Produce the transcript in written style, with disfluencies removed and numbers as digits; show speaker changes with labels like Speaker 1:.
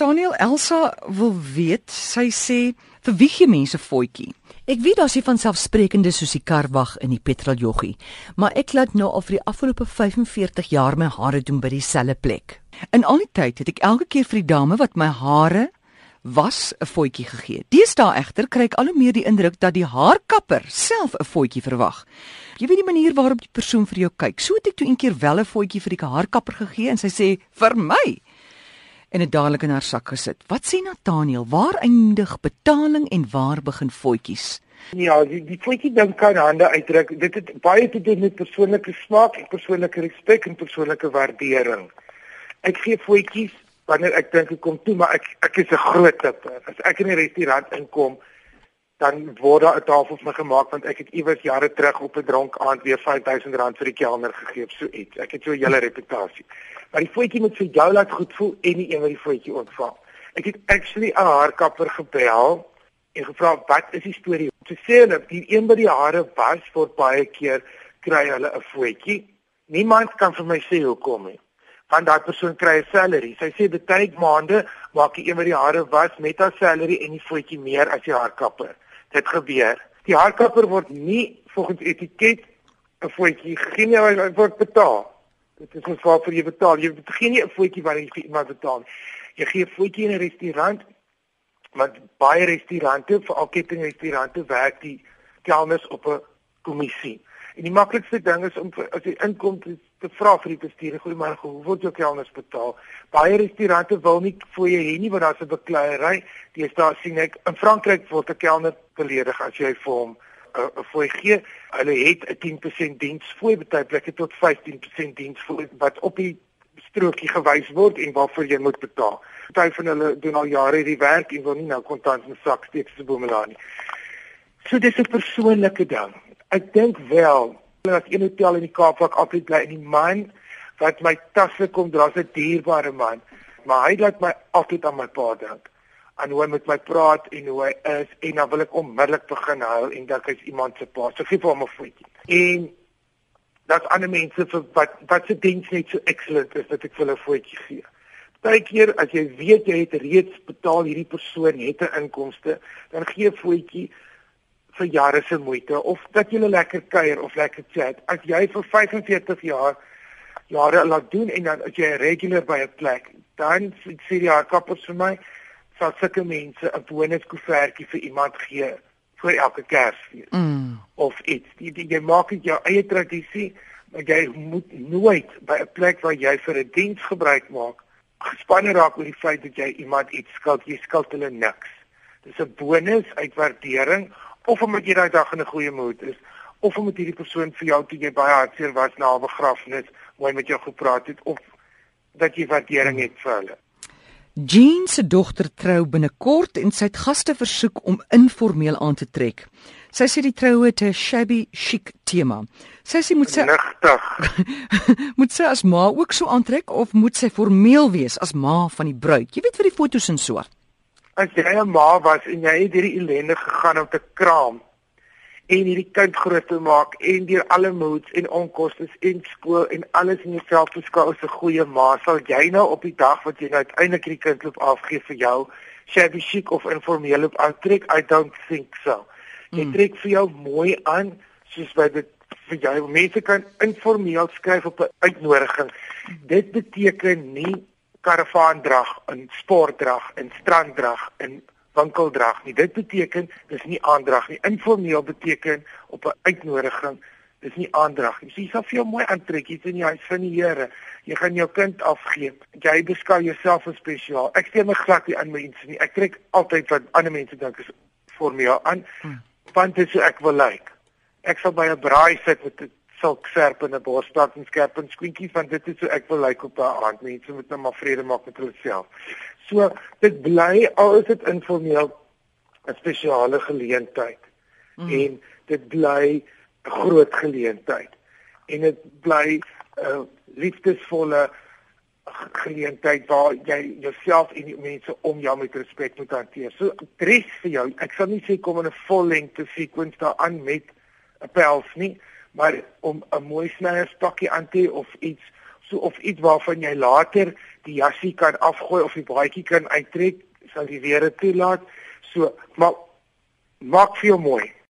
Speaker 1: Nathaniel, Elsa wil weet, sy sê, vir wie gee mense voetjie? Ek weet daar's nie van selfsprekende soos die karwag in die petroljoggie, maar ek laat nou al vir die afgelope 45 jaar my hare doen by dieselfde plek. In al die tyd het ek elke keer vir die dame wat my hare was 'n voetjie gegee. Deesdae egter kry ek al hoe meer die indruk dat die haarkapper self 'n voetjie verwag. Jy weet die manier waarop die persoon vir jou kyk. So het ek toe een keer wel 'n voetjie vir die haarkapper gegee en sy sê vir my en het dadelik in haar sak gesit. Wat sê Nathaniel? Waar eindig betaling en waar begin voetjies?
Speaker 2: Ja, die voetjie ding kan hande uitdruk. Dit het baie te doen met persoonlike smaak en persoonlike respek en persoonlike waardering. Ek gee voetjies wanneer ek dink ek kom toe, maar ek is 'n groot tipper. As ek in 'n restaurant inkom, dan word daar 'n tafel vir my gemaak want ek het iewers jare terug op 'n dronk aand weer R5000 vir die kelner gegee, so iets. Ek het so 'n hele reputasie. Maar die voetjie moet vir jou laat goed voel en nie een wat die voetjie ontvang. Ek het actually 'n haarkapper gebel en gevra wat is die storie? Sy sê hulle die een by die hare was word baie keer kry hulle 'n voetjie. Niemand kan vir my sê hoekom nie. Want daai persoon kry 'n salary. Sy sê baie maande maak die een by die hare was met haar salary en die voetjie meer as die haarkapper. Dit gebeur. Die haarkapper word nie volgens etiket 'n voetjie gegee nie, hy word betaal. Dit is ons waarvoor jy betaal. Jy gee nie 'n voetjie wat jy vir iemand betaal. Jy gee 'n voetjie in 'n restaurant, want baie restaurante, veral kettingrestaurante, werk die kelners op 'n kommissie. En die maklikste ding is om as jy inkom te vra vir die bestuurder, goeiemôre, hoe word jou kelners betaal? Baie restaurante wil nie fooie hê nie want daar's 'n bekleierery. Deesdae sien ek in Frankryk word 'n kelner beledig as jy vir hom 'n fooi gee. Hulle het 'n 10% diensfooi, baie plekke tot 15% diensfooi wat op die strokie gewys word en waarvoor jy moet betaal. Party van hulle doen al jare hierdie werk en wil nie nou kontant in sak steek se boemelaar nie. So dis 'n persoonlike ding. Ek dink wel, as een hotel in die Kaap waar ek altyd bly, en die man wat my tasse kom dra, is 'n dierbare man, maar hy laat my altyd aan my pa dink. En hoe hy met my praat en hoe hy is, en dan wil ek onmiddellik begin huil en dink hy's iemand se pa. So gee vir hom 'n voetjie. En daar's ander mense vir wat se diens net so excellent is dat ek vir hulle 'n voetjie gee. Partykeer as jy weet jy het reeds betaal hierdie persoon het 'n inkomste, dan gee 'n voetjie vir jare se moeite of dat jy lekker kuier of lekker chat. As jy vir 45 jare laat doen en dan as jy regular by 'n plek, dan sê die haarkappers vir my sal sulke mense 'n bonuskoevertjie vir iemand gee vir elke Kersfees. Of iets. Jy maak dit jou eie tradisie, maar jy moet nooit by 'n plek waar jy vir 'n diens gebruik maak gespanne raak oor die feit dat jy iemand iets skuld. Jy skuld hulle niks. Dis 'n bonus uit waardering, of omdat jy daai dag in 'n goeie mood is, of omdat hierdie persoon vir jou toe jy baie hartseer was na 'n begrafnis, mooi met jou gepraat het, of dat jy waardering het vir hulle.
Speaker 1: Jean se dogter trou binnekort en sy het gaste versoek om informeel aan te trek. Sy sê die troue het 'n shabby chic tema. Sy sê moet sy moet sy as ma ook so aantrek of moet sy formeel wees as ma van die bruid? Jy weet vir die foto's en so.
Speaker 2: As jy 'n ma was en jy het hierdie ellende gegaan om te kraam en hierdie kind groot te maak en deur alle moods en onkoste en skool en alles in jouself beskou as 'n goeie ma, sal jy nou op die dag wat jy nou uiteindelik die kind loop afgee vir jou shabby chic of informeel op aantrek? I don't think so. Jy trek vir jou mooi aan soos by dit vir jou. Mense kan informeel skryf op 'n uitnodiging. Dit beteken nie karavaandrag, en sportdrag, en stranddrag, en winkeldrag nie. Dit beteken dis nie aandrag nie. Informeel beteken op 'n uitnodiging, dis nie aandrag nie. So jy sal vir jou mooi aantrek, jy's in die huis van die Here. Jy gaan jou kind afgee. Jy beskou jouself as spesiaal. Ek steur my glad nie aan mense nie. Ek trek altyd wat ander mense dink is formeel aan, want dit is hoe ek wil lyk. Ek sal by 'n braai sit met 'n silk serp en 'n borstat en skerp en skoentjies, want dit is hoe ek wil lyk op 'n aand. Mense moet nou maar vrede maak met hulle self. So dit bly, al is dit informeel, 'n spesiale geleentheid. En dit bly 'n groot geleentheid. En dit bly 'n liefdesvolle geleentheid waar jy jouself en die mense om jou met respek moet hanteer. So dress vir jou. Ek sal nie sê kom in 'n vollengte sequence daaraan met 'n pels nie, maar om 'n mooi snyerspakkie aan te of iets waarvan jy later die jassie kan afgooi of die baadjie kan uittrek, sal die weer dit toelaat. So, maar maak veel mooi.